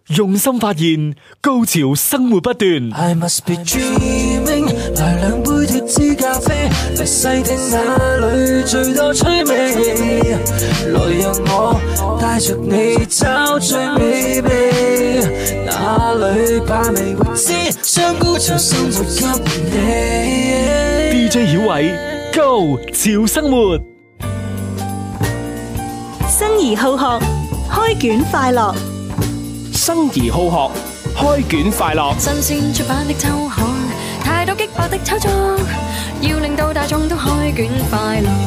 用心發現，高潮生活不斷。 I must be dreaming， 來兩杯脫脂咖啡，嚟細聽哪裏最多趣味，來讓我帶着你找最美味，哪裏把味未知，將高潮生活給你。 DJ 曉偉，高潮生活， 生而好學，開卷快樂。 生而好學，開卷快樂。 新鮮出版的週刊，太多激烈的炒作，要令到大眾都開卷快樂。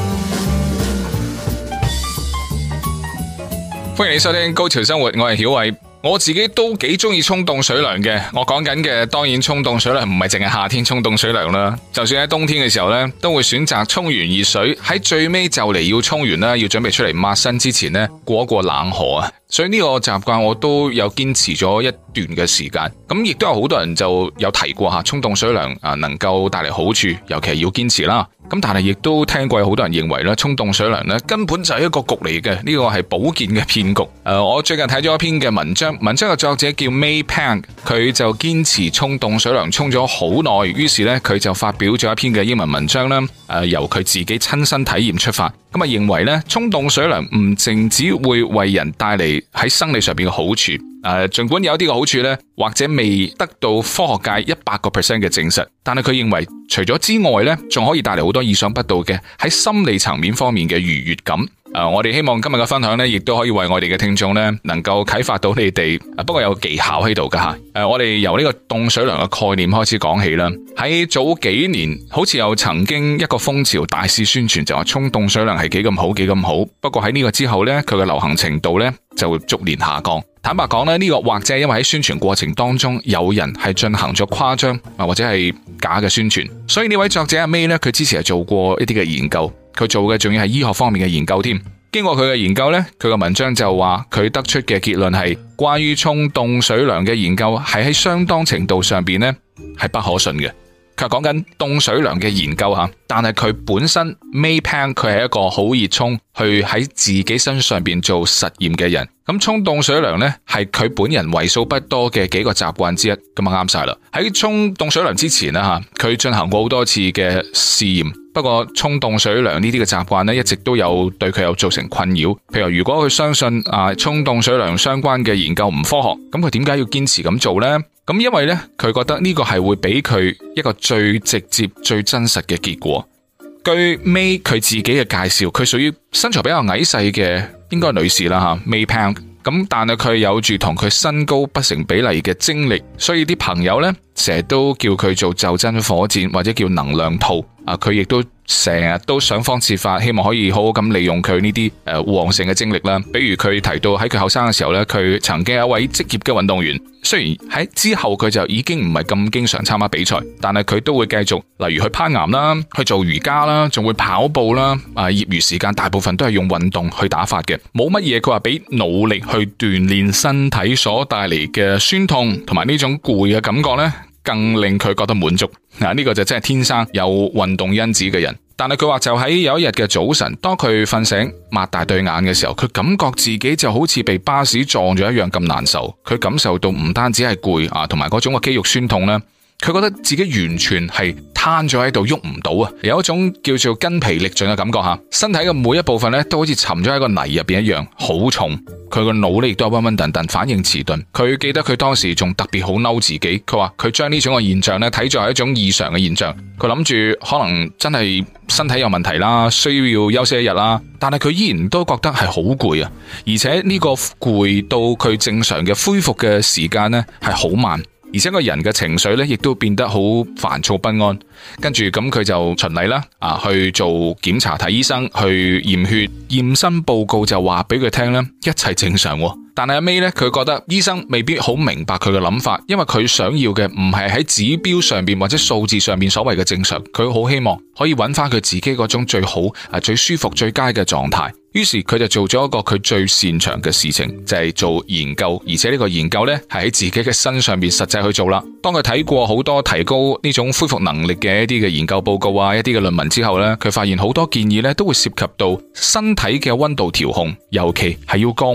歡迎你收聽《高潮生活》，我係曉偉。我自己都幾中意沖凍水涼嘅。我講緊嘅當然沖凍水涼唔係淨係夏天沖凍水涼啦，就算喺冬天嘅時候呢，都會選擇沖完熱水，喺最尾就嚟要沖完啦，要準備出嚟抹身之前呢，過一過冷河啊。所以呢個習慣我都有堅持咗一段嘅時間。咁亦都有好多人就有提過吓，沖凍水涼能夠帶嚟好處，尤其係要堅持啦。咁但係亦都聽過有好多人認為咧，沖凍水涼咧根本就係一個局嚟嘅，呢個係保健嘅騙局。我最近睇咗一篇嘅文章嘅作者叫 May Pang， 佢就堅持沖凍水涼沖咗好耐，於是咧佢就發表咗一篇嘅英文文章啦。由佢自己親身體驗出發，咁啊認為咧沖凍水涼唔淨止會為人帶嚟喺生理上邊嘅好處。盡管有一啲嘅好處咧，或者未得到科學界100% 嘅證實，但係佢認為除咗之外咧，仲可以帶嚟好多意想不到嘅喺心理層面方面嘅愉悅感。我哋希望今日嘅分享咧，亦都可以為我哋嘅聽眾咧，能夠啟發到你哋。不過有技巧喺度噶吓。我哋由呢個凍水涼嘅概念開始講起啦。喺早幾年，好似有曾經一個風潮大肆宣傳，就話沖凍水涼係幾咁好，幾咁好。不過喺呢個之後咧，佢嘅流行程度咧就會逐年下降。坦白講咧，呢個或者係因為喺宣傳過程當中有人係進行咗誇張或者係假嘅宣傳，所以呢位作者阿 May 咧，佢之前係做過一啲嘅研究，佢做嘅仲要係醫學方面嘅研究添。經過佢嘅研究咧，佢嘅文章就話佢得出嘅結論係，關於沖凍水涼嘅研究係喺相當程度上邊咧係不可信嘅。佢講緊凍水涼嘅研究吓，但係佢本身 May Pang 佢係一個好熱衷去喺自己身上邊做實驗嘅人。咁沖凍水涼呢，係佢本人為數不多嘅幾個習慣之一，咁啊啱晒啦。喺沖凍水涼之前啦吓，佢進行過好多次嘅試驗。不過沖凍水涼呢啲嘅習慣呢，一直都有對佢有造成困擾。譬如如果佢相信沖凍水涼相關嘅研究唔科學，咁佢點解要堅持咁做呢？咁因為呢，佢覺得呢個係會俾佢一個最直接、最真實嘅結果。據 May 佢自己嘅介紹，佢屬於身材比較矮細嘅，應該係女士啦吓 May Pang。咁但係佢有住同佢身高不成比例嘅精力，所以啲朋友呢，成日都叫佢做袖珍火箭或者叫能量兔。佢亦都成日都想方設法，希望可以好好咁利用佢呢啲旺盛嘅精力啦。比如佢提到喺佢後生嘅時候呢，佢曾經有一位職業嘅運動員，雖然喺之後佢就已經唔係咁經常參加比賽，但係佢都會繼續，例如去攀岩啦，去做瑜伽啦，仲會跑步啦。業餘時間大部分都係用運動去打發嘅，冇乜嘢佢話比努力去鍛煉身體所帶嚟嘅酸痛同埋呢種攰嘅感覺呢，更令佢覺得滿足。呢個就真係天生有運動因子嘅人。但係佢話就喺有一日嘅早晨，當佢瞓醒擘大對眼嘅時候，佢感覺自己就好似被巴士撞咗一樣咁難受。佢感受到唔單止係攰同埋嗰種嘅肌肉酸痛呢，佢覺得自己完全係攤咗喺度喐唔到啊，有一種叫做筋疲力盡嘅感覺吓，身體嘅每一部分咧都好似沉咗喺個泥入邊一樣，好重。佢個腦咧亦都係暈暈沌沌，反應遲鈍。佢記得佢當時仲特別好嬲自己，佢話佢將呢種嘅現象咧睇作係一種異常嘅現象。佢諗住可能真係身體有問題啦，需要休息一日啦，但係佢依然都覺得係好攰啊，而且呢個攰到佢正常嘅恢復嘅時間咧係好慢。而且個人嘅情緒咧，亦都變得好煩躁不安。跟住咁佢就循例啦，去做檢查睇醫生，去驗血，驗身報告就話俾佢聽咧，一切正常。但係阿 May 咧，佢覺得醫生未必好明白佢嘅諗法，因為佢想要嘅唔係喺指標上邊或者數字上邊所謂嘅正常，佢好希望可以揾翻佢自己嗰種最好、最舒服、最佳嘅狀態。於是佢就做咗一個佢最擅長嘅事情，就係做研究，而且呢個研究呢係喺自己嘅身上邊實際去做啦。當佢睇過好多提高呢種恢復能力嘅一啲嘅研究報告一啲嘅論文之後呢，佢發現好多建議呢都會涉及到身體嘅溫度調控，尤其係要降溫。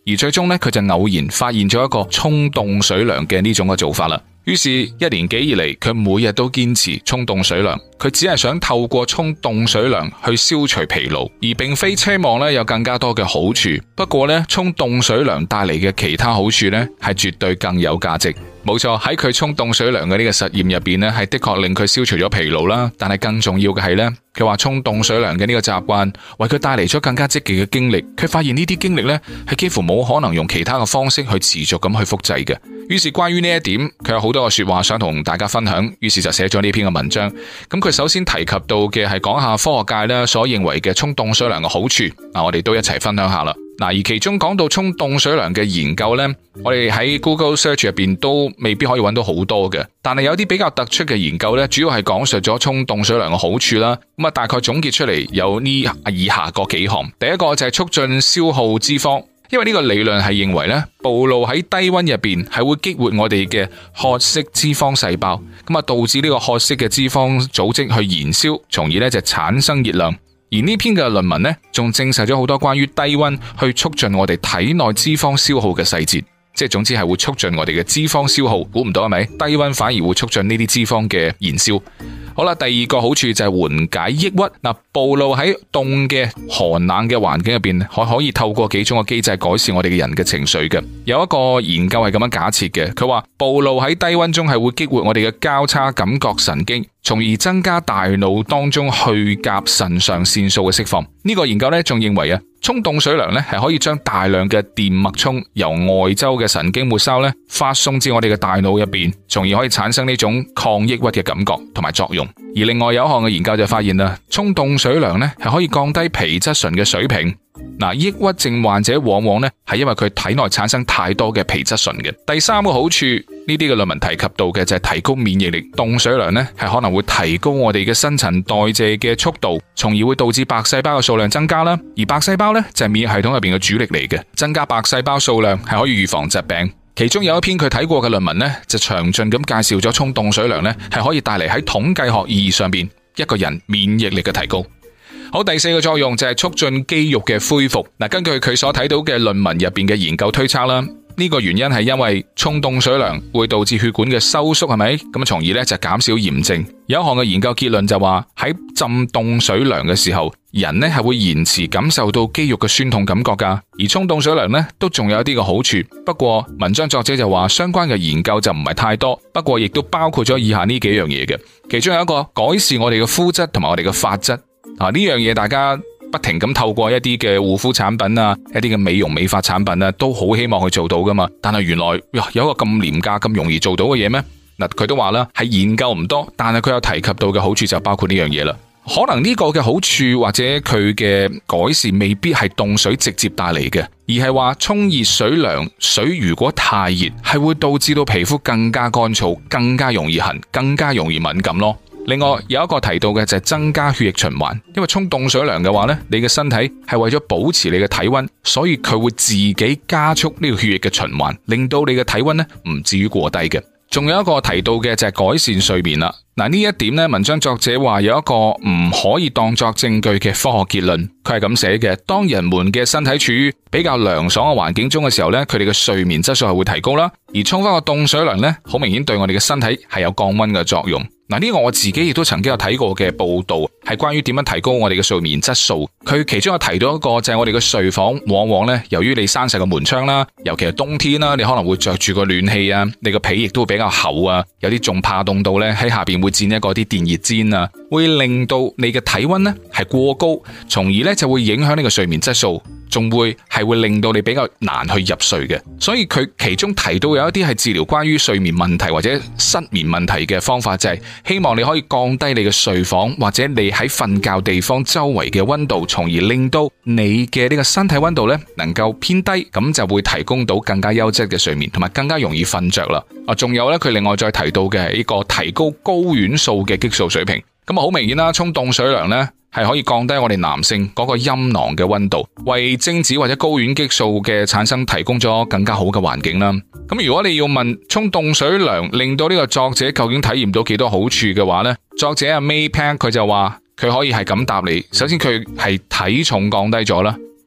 而最終呢，佢就偶然發現咗一個沖凍水涼嘅呢種嘅做法啦。於是1年幾以嚟，佢每日都堅持沖凍水涼。佢只係想透過沖凍水涼去消除疲勞，而並非奢望呢有更加多嘅好處。不過呢，沖凍水涼帶嚟嘅其他好處呢，係絕對更有價值。冇錯，喺佢沖凍水涼嘅呢個實驗入邊呢，係的確令佢消除咗疲勞啦。但係更重要嘅係呢，佢話沖凍水涼嘅呢個習慣為佢帶嚟咗更加積極嘅經歷。佢發現呢啲經歷呢，係幾乎冇可能用其他嘅方式去持續咁去複製嘅。於是關於呢一點，佢有好多嘅說話想同大家分享，於是就寫咗呢篇嘅文章。咁佢首先提及到嘅係講下科學界咧所認為嘅沖凍水涼嘅好處，我哋都一齊分享下啦。而其中講到沖凍水涼嘅研究呢，我哋喺 Google Search 入邊都未必可以揾到好多嘅，但係有啲比較突出嘅研究呢，主要係講述咗沖凍水涼嘅好處啦。咁大概總結出嚟有呢以下嗰幾項。第一個就係促進消耗脂肪。因為呢個理論係認為咧，暴露喺低溫入邊係會激活我哋嘅褐色脂肪細胞，咁導致呢個褐色嘅脂肪組織去燃燒，從而咧就產生熱量。而呢篇嘅論文咧，仲證實咗好多關於低溫去促進我哋體內脂肪消耗嘅細節，即係總之係會促進我哋嘅脂肪消耗。估唔到係咪？低溫反而會促進呢啲脂肪嘅燃燒。好啦，第二個好處就係緩解抑鬱。暴露喺凍嘅寒冷嘅環境入邊，可以透過幾種嘅機制改善我哋嘅人嘅情緒嘅。有一個研究係咁樣假設嘅，佢話暴露喺低溫中係會激活我哋嘅交叉感覺神經，從而增加大腦當中去甲腎上腺素嘅釋放。呢個研究呢仲認為沖凍水涼呢係可以將大量嘅電脈衝由外周嘅神經末梢呢發送至我哋嘅大腦入邊，從而可以產生呢種抗抑鬱嘅感覺同埋作用。而另外有一項嘅研究就發現啦，沖凍水涼呢係可以降低皮質醇嘅水平。抑鬱症患者往往呢係因為佢體內產生太多嘅皮質醇嘅。第三個好處，呢啲嘅論文提及到嘅就係提高免疫力。凍水涼呢係可能會提高我哋嘅新陳代謝嘅速度，從而會導致白細胞嘅數量增加啦。而白細胞呢就係免疫系統入邊嘅主力嚟嘅，增加白細胞數量係可以預防疾病。其中有一篇佢睇過嘅論文呢，就詳盡咁介紹咗沖凍水涼呢係可以帶嚟喺統計學意義上邊一個人免疫力嘅提高。好，第四個作用就係促進肌肉嘅恢復。根據佢所睇到嘅論文入邊嘅研究推測啦，呢個原因係因為沖凍水涼會導致血管嘅收縮，係咪？咁從而咧就減少炎症。有一項嘅研究結論就話喺浸凍水涼嘅時候，人呢係會延遲感受到肌肉嘅酸痛感覺噶。而沖凍水涼呢都仲有一啲嘅好處，不過文章作者就話相關嘅研究就唔係太多，不過亦都包括咗以下呢幾樣嘢嘅。其中有一個改善我哋嘅膚質同埋我哋嘅髮質。呢樣嘢大家不停咁透過一啲嘅護膚產品啊，一啲嘅美容美髮產品啊，都好希望去做到噶嘛。但係原來有一個咁廉價咁容易做到嘅嘢咩？佢都話啦，係研究唔多，但係佢有提及到嘅好處就包括呢樣嘢啦。可能呢個嘅好處或者佢嘅改善未必係凍水直接帶嚟嘅，而係話沖熱水涼，水如果太熱，係會導致到皮膚更加乾燥，更加容易痕，更加容易敏感咯。另外有一個提到嘅就係增加血液循環，因為沖凍水涼嘅話呢，你嘅身體係為咗保持你嘅體溫，所以佢會自己加速呢個血液嘅循環，令到你嘅體溫呢唔至於過低嘅。仲有一個提到嘅就係改善睡眠啦。呢一點呢，文章作者話有一個唔可以當作證據嘅科學結論，佢係咁寫嘅：當人們嘅身體處於比較涼爽嘅環境中嘅時候呢，佢哋嘅睡眠質素係會提高啦。而沖翻個凍水涼呢，好明顯對我哋嘅身體係有降溫嘅作用。呢個我自己亦都曾經有睇過嘅報道，係關於點樣提高我哋嘅睡眠質素。佢其中有提到一個就係我哋嘅睡房，往往呢，由於你閂晒個門窗啦，尤其係冬天啦，你可能會着住個暖氣啊，你個被亦都會比較厚啊，有啲仲怕凍到呢，喺下邊會墊一個啲電熱氈啊，會令到你嘅體溫呢係過高，從而呢就會影響呢個睡眠質素，仲會令到你比較難去入睡嘅。所以佢其中提到有一啲係治療關於睡眠問題或者失眠問題嘅方法，就係希望你可以降低你嘅睡房或者你喺瞓覺地方周圍嘅溫度，從而令到你嘅呢個身體溫度呢能夠偏低，咁就會提供到更加優質嘅睡眠，同埋更加容易瞓着啦。仲有呢，佢另外再提到嘅係呢個提高睾丸素嘅激素水平。咁好明顯啦，沖凍水涼呢係可以降低我哋男性嗰個陰囊嘅溫度，為精子或者睾丸激素嘅產生提供咗更加好嘅環境啦。咁如果你要問沖凍水涼令到呢個作者究竟體驗到幾多好處嘅話呢，作者阿 May Pack 佢就話佢可以係咁答你。首先佢係體重降低咗啦，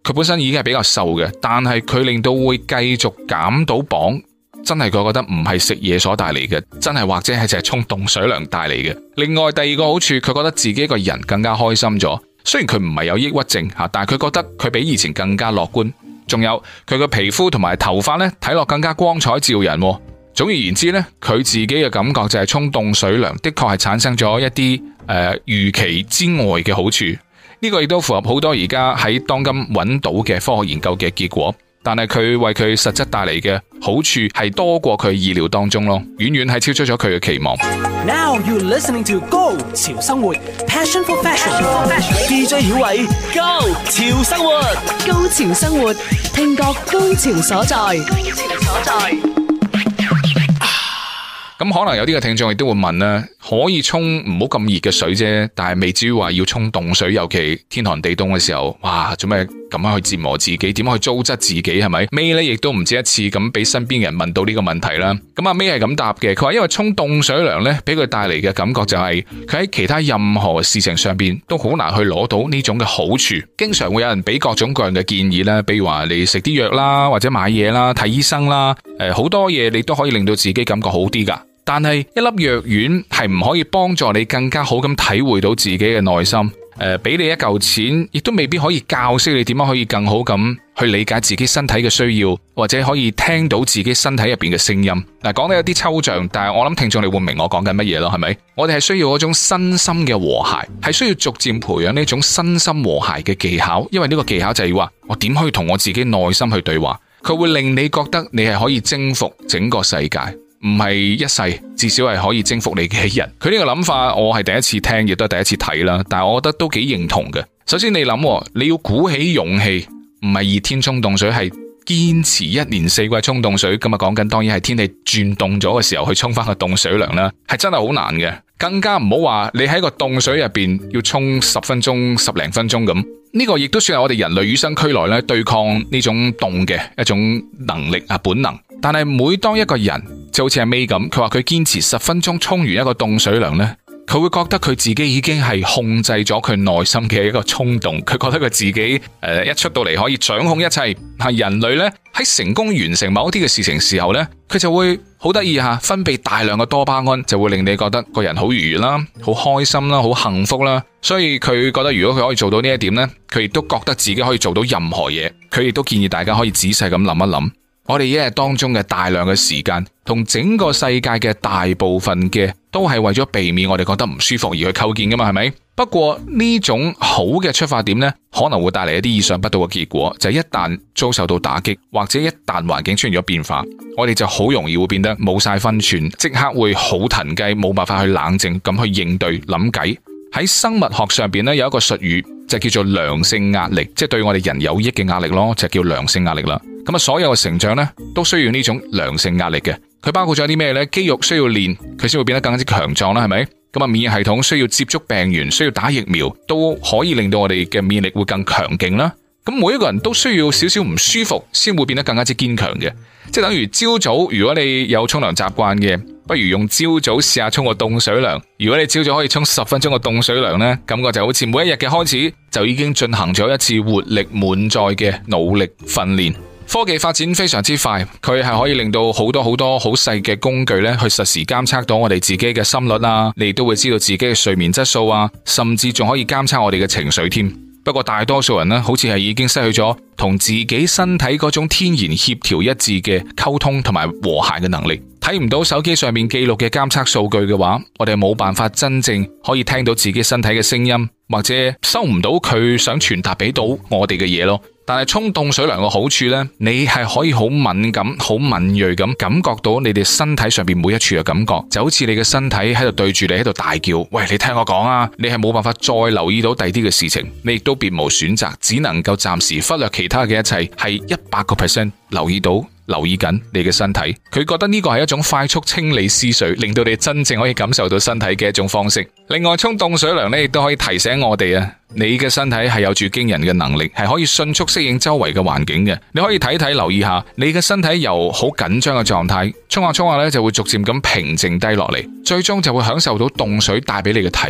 佢本身已經係比較瘦嘅，但係佢令到會繼續減到磅，真係佢覺得唔係食嘢所帶嚟嘅，真係或者係淨係沖凍水涼帶嚟嘅。另外第二個好處，佢覺得自己個人更加開心咗。雖然佢唔係有抑鬱症吓，但係佢覺得佢比以前更加樂觀。仲有佢個皮膚同埋頭髮呢，睇落更加光彩照人。總而言之呢，佢自己嘅感覺就係沖凍水涼的確係產生咗一啲預期之外嘅好處。呢個亦都符合好多而家喺當今揾到嘅科學研究嘅結果。但係佢為佢實質帶嚟嘅好處係多過佢意料當中咯，遠遠係超出咗佢嘅期望。 Now you're listening to Go 潮生活 Passion for Fashion。DJ 曉偉 Go 潮生活， 高潮生活，聽覺高潮所在。 咁可能有啲嘅聽眾亦都會問啦，可以沖唔好咁熱嘅水啫，但係未至於話要沖凍水，尤其天寒地凍嘅時候，哇，做咩咁樣去折磨自己？點樣去糟質自己？係咪？May 咧亦都唔止一次咁俾身邊嘅人問到呢個問題啦。咁阿 May 係咁答嘅，佢話因為沖凍水涼咧，俾佢帶嚟嘅感覺就係佢喺其他任何事情上邊都好難去攞到呢種嘅好處。經常會有人俾各種各樣嘅建議啦，比如話你食啲藥啦，或者買嘢啦，睇醫生啦，好多嘢你都可以令到自己感覺好啲噶。但係一粒藥丸係唔可以幫助你更加好咁體會到自己嘅內心，俾你一嚿錢，亦都未必可以教識你點樣可以更好咁去理解自己身體嘅需要，或者可以聽到自己身體入邊嘅聲音。嗱，講得有啲抽象，但係我諗聽眾你會明我講緊乜嘢咯，係咪？我哋係需要嗰種身心嘅和諧，係需要逐漸培養呢種身心和諧嘅技巧，因為呢個技巧就係話我點可以同我自己內心去對話，佢會令你覺得你係可以征服整個世界。唔係一世，至少係可以征服你嘅一日。佢呢個諗法我係第一次聽，亦都係第一次睇啦。但係我覺得都幾認同嘅。首先你諗，你要鼓起勇氣，唔係熱天沖凍水，係堅持一年四季沖凍水。咁啊講緊當然係天氣轉凍咗嘅時候去沖翻個凍水涼啦，係真係好難嘅。更加唔好話你喺個凍水入邊要沖10分鐘、10零分鐘咁。呢個亦都算係我哋人類與生俱來咧對抗呢種凍嘅一種能力啊本能。但係每當一個人就好似阿 May 咁，佢話佢堅持10分鐘沖完一個凍水涼呢，佢會覺得佢自己已經係控制咗佢內心嘅一個衝動，佢覺得佢自己一出到嚟可以掌控一切。係人類呢，喺成功完成某啲嘅事情時候呢，佢就會好得意吓，分泌大量嘅多巴胺，就會令你覺得個人好愉悅啦，好開心啦，好幸福啦。所以佢覺得如果佢可以做到呢一點呢，佢亦都覺得自己可以做到任何嘢。佢亦都建議大家可以仔細咁諗一諗。我哋一日當中嘅大量嘅時間，同整個世界嘅大部分嘅，都係為咗避免我哋覺得唔舒服而去構建噶嘛，係咪？不過呢種好嘅出發點呢，可能會帶嚟一啲意想不到嘅結果，就係一旦遭受到打擊，或者一旦環境出現咗變化，我哋就好容易會變得冇晒分寸，即刻會好騰雞，冇辦法去冷靜咁去應對諗計。喺生物學上邊呢，有一個術語就叫做良性壓力，即係對我哋人有益嘅壓力咯，就叫良性壓力啦。咁啊，所有嘅成長呢，都需要呢種良性壓力嘅。佢包括咗啲咩呢？肌肉需要練，佢先會變得更加之強壯啦，係咪？咁啊，免疫系統需要接觸病原，需要打疫苗，都可以令到我哋嘅免疫力會更強勁啦。咁每一個人都需要少少唔舒服，先會變得更加之堅強嘅。即係等於朝早，如果你有沖涼習慣嘅，不如用朝早試下沖個凍水涼。如果你朝早可以沖10分鐘個凍水涼呢，感覺就好似每一日嘅開始就已經進行咗一次活力滿載嘅努力訓練。科技發展非常之快，佢係可以令到好多好細嘅工具咧，去實時監測到我哋自己嘅心率啊，你亦都會知道自己嘅睡眠質素啊，甚至仲可以監測我哋嘅情緒添。不過大多數人呢，好似係已經失去咗同自己身體嗰種天然協調一致嘅溝通同埋和諧嘅能力。睇唔到手機上面記錄嘅監測數據嘅話，我哋冇辦法真正可以聽到自己身體嘅聲音，或者收唔到佢想傳達俾到我哋嘅嘢咯。但係沖凍水涼嘅好處呢，你係可以好敏感、好敏銳咁感覺到你哋身體上邊每一處嘅感覺，就好似你嘅身體喺度對住你喺度大叫，喂，你聽我講啊！你係冇辦法再留意到第啲嘅事情，你亦都別無選擇，只能夠暫時忽略其他嘅一切，係100% 留意緊你嘅身體。佢覺得呢個係一種快速清理思緒，令到你真正可以感受到身體嘅一種方式。另外，沖凍水涼呢亦都可以提醒我哋啊，你嘅身體係有住驚人嘅能力，係可以迅速適應周圍嘅環境嘅。你可以睇留意下，你嘅身體由好緊張嘅狀態，沖下呢就會逐漸咁平靜低落嚟，最終就會享受到凍水帶俾你嘅體驗。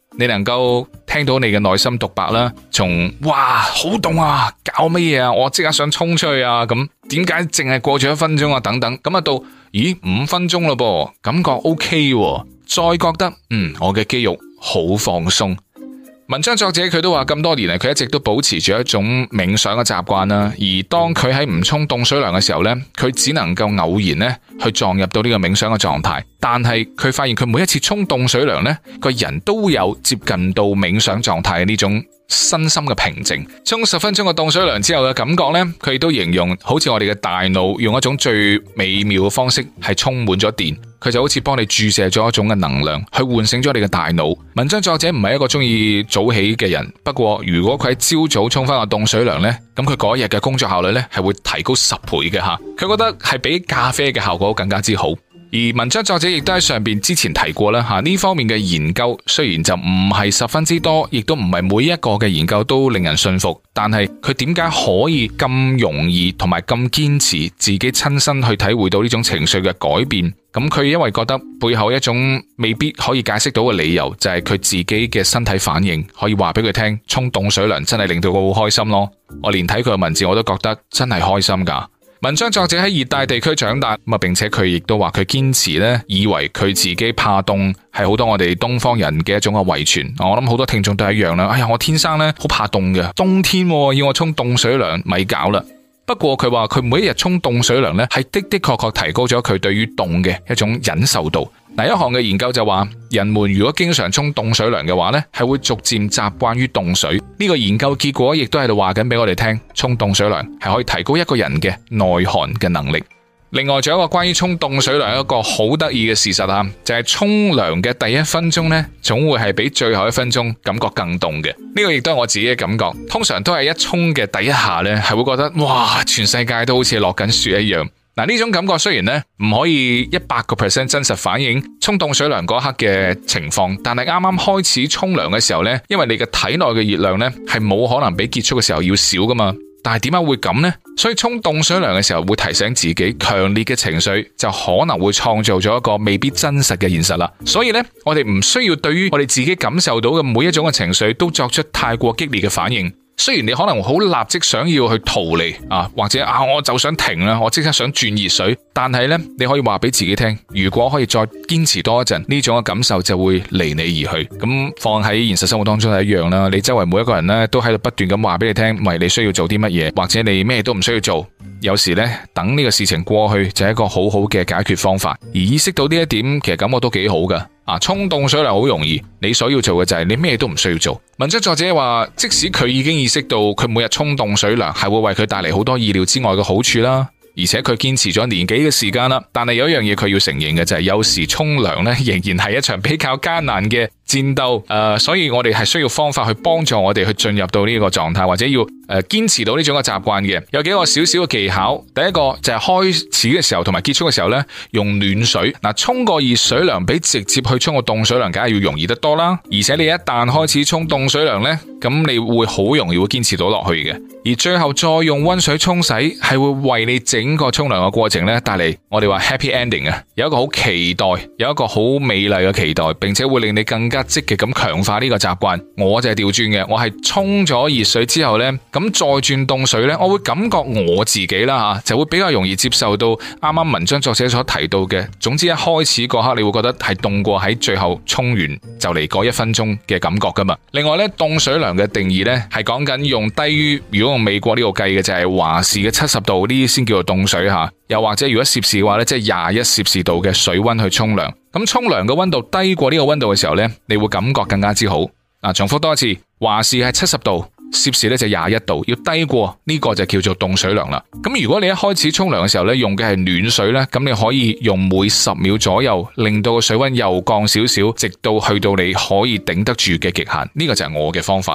你能夠聽到你嘅內心獨白啦，從哇好凍啊，搞乜嘢啊，我即刻想衝出去啊，咁點解淨係過咗1分鐘啊等等，咁啊到咦5分鐘咯噃，感覺 OK 喎，再覺得我嘅肌肉好放鬆。文章作者佢都話咁多年嚟，佢一直都保持住一種冥想嘅習慣啦。而當佢喺唔沖凍水涼嘅時候呢，佢只能夠偶然呢去撞入到呢個冥想嘅狀態。但係佢發現佢每一次沖凍水涼呢，個人都有接近到冥想狀態嘅呢種身心嘅平靜。沖10分鐘嘅凍水涼之後嘅感覺呢，佢亦都形容好似我哋嘅大腦用一種最美妙嘅方式係充滿咗電。佢就好似幫你注射咗一種嘅能量，去喚醒咗你嘅大腦。文章作者唔係一個中意早起嘅人，不過如果佢喺朝早沖翻個凍水涼呢，咁佢嗰一日嘅工作效率呢係會提高10倍嘅吓。佢覺得係比咖啡嘅效果更加之好。而文章作者亦都喺上邊之前提過啦吓，呢方面嘅研究雖然就唔係十分之多，亦都唔係每一個嘅研究都令人信服，但係佢點解可以咁容易同埋咁堅持自己親身去體會到呢種情緒嘅改變？咁佢因為覺得背後一種未必可以解釋到嘅理由，就係佢自己嘅身體反應可以話俾佢聽，沖凍水涼真係令到佢好開心咯。我連睇佢嘅文字我都覺得真係開心噶。文章作者喺熱帶地區長大，並且佢亦都話佢堅持呢，以為佢自己怕凍係好多我哋東方人嘅一種嘅遺傳。我諗好多聽眾都係一樣啦。哎呀，我天生呢好怕凍嘅，冬天要我沖凍水涼咪搞啦。不過佢話佢每一日沖凍水涼呢，係的確提高咗佢對於凍嘅一種忍受度。一項嘅研究就話，人們如果經常沖凍水涼嘅話呢，係會逐漸習慣於凍水。呢個研究結果亦都喺度話緊俾我哋聽，沖凍水涼係可以提高一個人嘅耐寒嘅能力。另外仲有一個關於沖凍水涼一個好得意嘅事實啊，就係沖涼嘅第1分鐘呢，總會係比最後1分鐘感覺更凍嘅。呢個亦都係我自己嘅感覺。通常都係一沖嘅第一下呢，係會覺得哇，全世界都好似落緊雪一樣。嗱，呢種感覺雖然呢唔可以100% 真實反映沖凍水涼嗰刻嘅情況，但係啱啱開始沖涼嘅時候呢，因為你嘅體內嘅熱量呢係冇可能比結束嘅時候要少噶嘛。但係點解會咁呢？所以沖凍水涼嘅時候會提醒自己，強烈嘅情緒就可能會創造咗一個未必真實嘅現實啦。所以呢，我哋唔需要對於我哋自己感受到嘅每一種嘅情緒都作出太過激烈嘅反應。雖然你可能好立即想要去逃離或者我就想停啦，我即刻想轉熱水，但係呢，你可以話俾自己聽，如果可以再堅持多一陣，呢種嘅感受就會離你而去。咁放喺現實生活當中係一樣啦，你周圍每一個人呢都喺度不斷咁話俾你聽，喂，你需要做啲乜嘢，或者你咩都唔需要做。有時呢，等呢個事情過去就係一個好好嘅解決方法。而意識到呢一點，其實感覺都幾好噶。沖凍水涼好容易，你所要做嘅就係你咩都唔需要做。文章作者話，即使佢已經意識到佢每日沖凍水涼係會為佢帶嚟好多意料之外嘅好處啦，而且佢堅持咗年幾嘅時間啦，但係有一樣嘢佢要承認嘅就係，有時沖涼呢仍然係一場比較艱難嘅戰鬥。所以我哋係需要方法去幫助我哋去進入到呢個狀態，或者要堅持到呢種嘅習慣嘅。有幾個少少嘅技巧。第一個就係開始嘅時候同埋結束嘅時候呢，用暖水。沖個熱水涼比直接去沖個凍水涼梗係要容易得多啦。而且你一旦開始沖凍水涼呢，咁你會好容易會堅持到落去嘅。而最後再用溫水沖洗，係會為你整個沖涼嘅過程呢帶嚟我哋話 happy ending 啊，有一個好期待，有一個好美麗嘅期待，並且會令你更加積極咁強化呢個習慣。我就係調轉嘅，我係沖咗熱水之後呢，咁再轉凍水呢，我會感覺我自己啦就會比較容易接受到啱啱文章作者所提到嘅。總之一開始嗰刻你會覺得係凍過喺最後沖完就嚟嗰1分鐘嘅感覺噶嘛。另外呢，凍水涼嘅定義呢係講緊用低於，如果用美國呢個計嘅就係華氏嘅70度，呢啲先叫做凍水吓。又或者如果攝氏嘅話呢，即係21攝氏度嘅水溫去沖涼。咁沖涼嘅溫度低過呢個溫度嘅時候呢，你會感覺更加之好。重複多一次，華氏係70度，攝氏呢就21度，要低過呢個就叫做凍水涼啦。咁如果你一開始沖涼嘅時候呢，用嘅係暖水呢，咁你可以用每10秒左右令到個水溫又降少少，直到去到你可以頂得住嘅極限。呢個就係我嘅方法啦。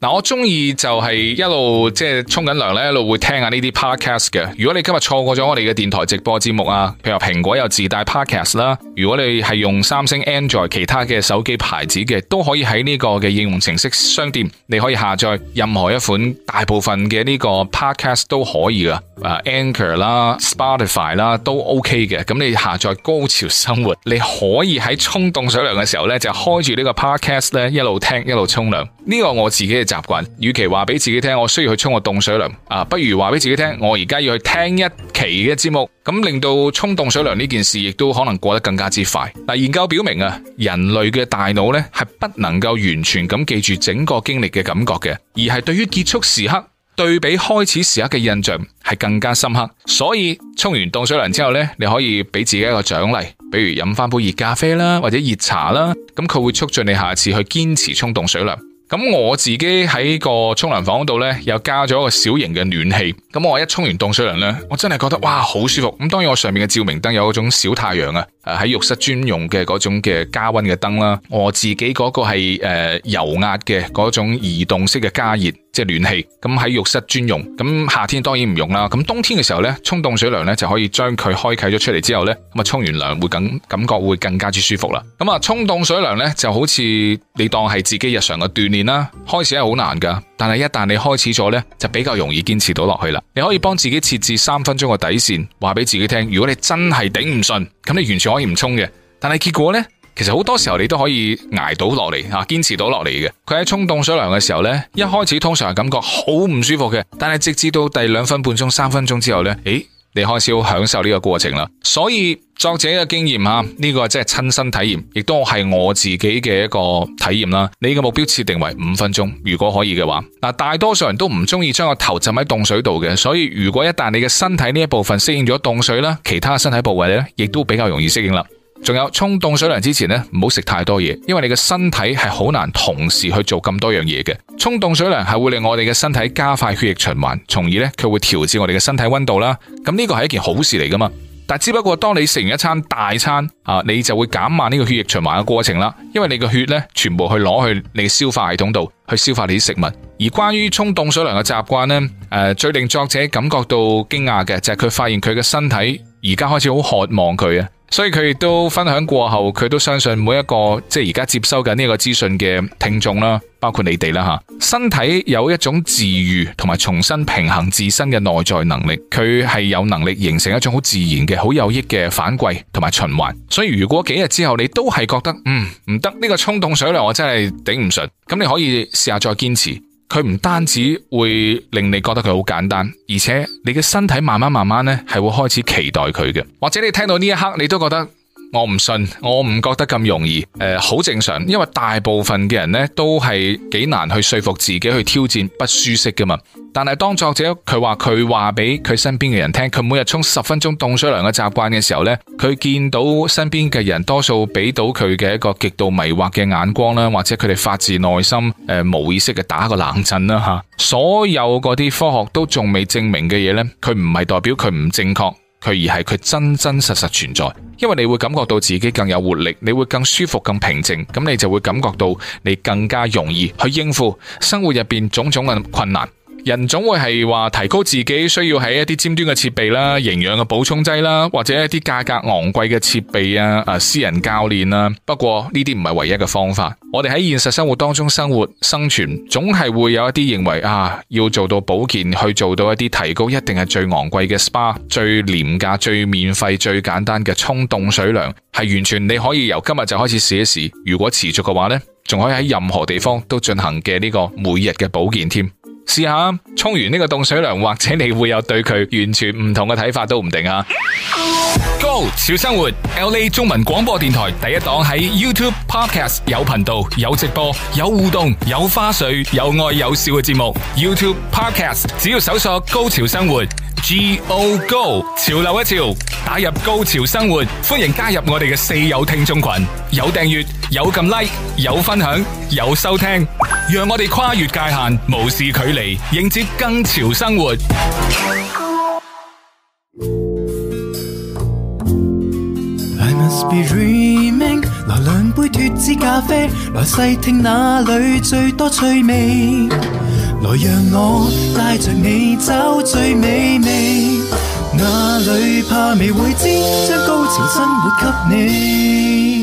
嗱，我中意就係一路即係沖緊涼咧，一路會聽下呢啲 podcast 嘅。如果你今日錯過咗我哋嘅電台直播節目啊，譬如話蘋果有自帶 podcast 啦，如果你係用三星 Android 其他嘅手機牌子嘅，都可以喺呢個嘅應用程式商店，你可以下載任何一款，大部分嘅呢個 podcast 都可以噶，Anchor 啦、Spotify 啦都 OK 嘅。咁你下載高潮生活，你可以喺沖凍水涼嘅時候咧，就開住呢個 podcast 咧，一路聽一路沖涼。呢個我自己嘅習慣，與其話俾自己聽我需要去沖個凍水涼啊，不如話俾自己聽我而家要去聽一期嘅節目，咁令到沖凍水涼呢件事亦都可能過得更加之快。嗱，研究表明啊，人類嘅大腦咧係不能夠完全咁記住整個經歷嘅感覺嘅，而係對於結束時刻對比開始時刻嘅印象係更加深刻。所以沖完凍水涼之後咧，你可以俾自己一個獎勵，比如飲翻杯熱咖啡啦，或者熱茶啦，咁佢會促進你下次去堅持沖凍水涼。咁我自己喺個沖涼房度呢，又加咗一個小型嘅暖氣。咁我一沖完凍水涼呢，我真係覺得哇好舒服。咁當然我上面嘅照明燈有嗰種小太陽啊，喺浴室專用嘅嗰種嘅加溫嘅燈啦。我自己嗰個係油壓嘅嗰種移動式嘅加熱，即係暖氣。咁喺浴室專用。咁夏天當然唔用啦。咁冬天嘅時候呢，沖凍水涼呢就可以將佢開啟咗出嚟之後呢，咁啊沖完涼會感覺會更加之舒服啦。咁啊沖凍水涼呢就好似你當係自己日常嘅鍛煉啦。開始係好難噶，但係一旦你開始咗呢，就比較容易堅持到落去啦。你可以幫自己設置3分鐘嘅底線，話俾自己聽，如果你真係頂唔順，咁你完全可以唔沖嘅。但係結果呢，其實好多時候你都可以捱到落嚟啊，堅持到落嚟嘅。佢喺沖凍水涼嘅時候呢，一開始通常係感覺好唔舒服嘅，但係直至到第2分半鐘、3分鐘之後呢，你開始好享受呢個過程啦。所以作者嘅經驗啊，呢個真係親身體驗，亦都係我自己嘅一個體驗啦。你嘅目標設定為5分鐘，如果可以嘅話，嗱，大多數人都唔中意將個頭浸喺凍水度嘅，所以如果一旦你嘅身體呢一部分適應咗凍水啦，其他身體部位咧，亦都比較容易適應啦。仲有沖凍水涼之前呢，唔好食太多嘢，因為你嘅身體係好難同時去做咁多樣嘢嘅。沖凍水涼係會令我哋嘅身體加快血液循環，從而呢，佢會調節我哋嘅身體溫度啦。咁呢個係一件好事嚟噶嘛。但只不過當你食完一餐大餐啊，你就會減慢呢個血液循環嘅過程啦，因為你嘅血呢，全部去攞去你嘅消化系統度去消化你啲食物。而關於沖凍水涼嘅習慣呢，最令作者感覺到驚訝嘅就係佢發現佢嘅身體而家開始好渴望佢啊。所以佢亦都分享過後，佢都相信每一個即係而家接收緊呢個資訊嘅聽眾啦，包括你哋啦吓，身體有一種治癒同埋重新平衡自身嘅內在能力，佢係有能力形成一種好自然嘅好有益嘅反饋同埋循環。所以如果幾日之後你都係覺得唔得，呢個沖凍水涼我真係頂唔順，咁你可以試下再堅持。佢唔單止會令你覺得佢好簡單，而且你嘅身體慢慢呢係會開始期待佢嘅。或者你聽到呢一刻你都覺得我唔信，我唔覺得咁容易，好正常，因為大部分嘅人呢都係幾難去說服自己去挑戰不舒適㗎嘛。但係當作者佢話俾佢身邊嘅人聽，佢每日沖10分鐘凍水涼嘅習慣嘅時候呢，佢見到身邊嘅人多數俾到佢嘅一個極度迷惑嘅眼光啦，或者佢哋發自內心無意識嘅打個冷震啦吓。所有嗰啲科學都仲未證明嘅嘢呢，佢唔係代表佢唔正確，佢而係佢真真實實存在。因為你會感覺到自己更有活力，你會更舒服更平靜，咁你就會感覺到你更加容易去應付生活入邊種種嘅困難。人總會係話提高自己需要喺一啲尖端嘅設備啦、營養嘅補充劑啦，或者一啲價格昂貴嘅設備啊、私人教練啊。不過呢啲唔係唯一嘅方法。我哋喺現實生活當中生活生存，總係會有一啲認為要做到保健，去做到一啲提高，一定係最昂貴嘅 SPA、最廉價、最免費、最簡單嘅沖凍水涼，係完全你可以由今日就開始試一試。如果持續嘅話呢，仲可以喺任何地方都進行嘅呢個每日嘅保健添。試下沖完呢個凍水涼，或者你會有對佢完全唔同嘅睇法都唔定啊。Go 潮生活 LA 中文廣播電台第一檔，喺 YouTube Podcast 有頻道、有直播、有互動、有花絮、有愛有笑嘅節目。YouTube Podcast 只要搜索高潮生活 Go Go 潮流一潮，打入高潮生活，歡迎加入我哋嘅四友聽眾群，有訂閱、有撳 like、有分享、有收聽，讓我哋跨越界限，無視距離，迎接更潮生活。 I must be dreaming， 來兩杯脫脂咖啡，來細聽哪裏最多趣味，來讓我帶着你找最美味，哪裏怕未會知，將高潮生活給你。